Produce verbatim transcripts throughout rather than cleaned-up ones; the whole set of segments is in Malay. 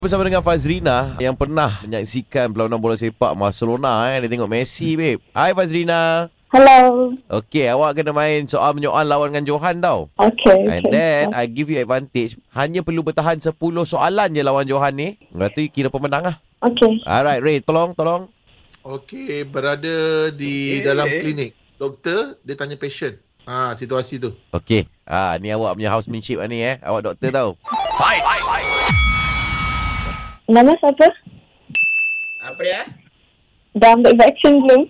Bersama dengan Fazrina yang pernah menyaksikan perlawanan bola sepak Barcelona eh. Dia tengok Messi, babe. Hai Fazrina. Hello. Okey, awak kena main soal menyoal lawan dengan Johan tau. Okay. And then I give you advantage. Hanya perlu bertahan sepuluh soalan je lawan Johan ni. Lepas tu kira pemenang lah. Okay. Alright, Ray, tolong, tolong. Okey, berada di dalam klinik. Doktor, dia tanya patient. Ha, situasi tu. Okey. Ah, ni awak punya housemanship lah ni eh. Awak doktor tau. Fight! Nama siapa? Apa dia? Dah ambil vaksin belum?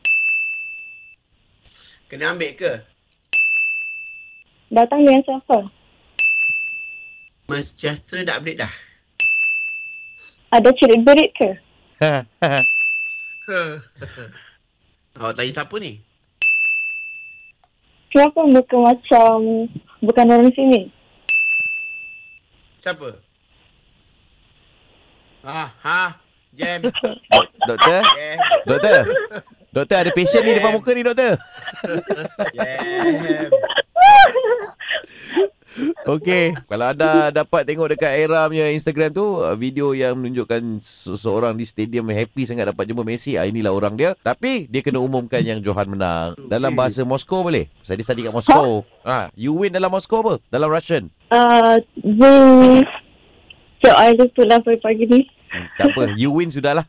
Kena ambil ke? Datang dengan siapa? Mas Sejahtera dah update dah. Ada cerit-berit ke? Awak tanya siapa ni? Kenapa muka macam bukan orang sini? Siapa? Ha, ha, Jam. Doktor? Jam. Doktor? Doktor, ada patient ni depan muka ni, doktor. Jam. Okey, kalau anda dapat tengok dekat Era punya Instagram tu, video yang menunjukkan seseorang di stadium happy sangat dapat jumpa Messi. Ah, inilah orang dia. Tapi dia kena umumkan yang Johan menang. Dalam bahasa Moskow boleh? Saya dia study kat Moskow. Ha, you win dalam Moskow apa? Dalam Russian. Uh, we... So, I lupa lah pagi-pagi ni. Hmm, tak apa, you win sudahlah.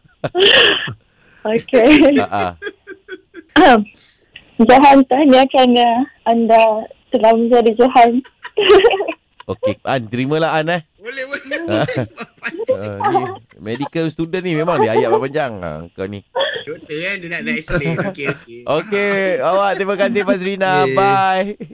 Okay. Ha um, Johan tanya kerana anda telah menjadi Johan. Okey, An, terimalah An eh. Boleh, boleh. Ha. boleh. Uh, ni medical student ni memang dia ayat panjang. Ha, kau ni. Doktor kan, dia nak nak explain. Okey, okey. Okey, awak terima kasih Fazrina. Okay. Bye.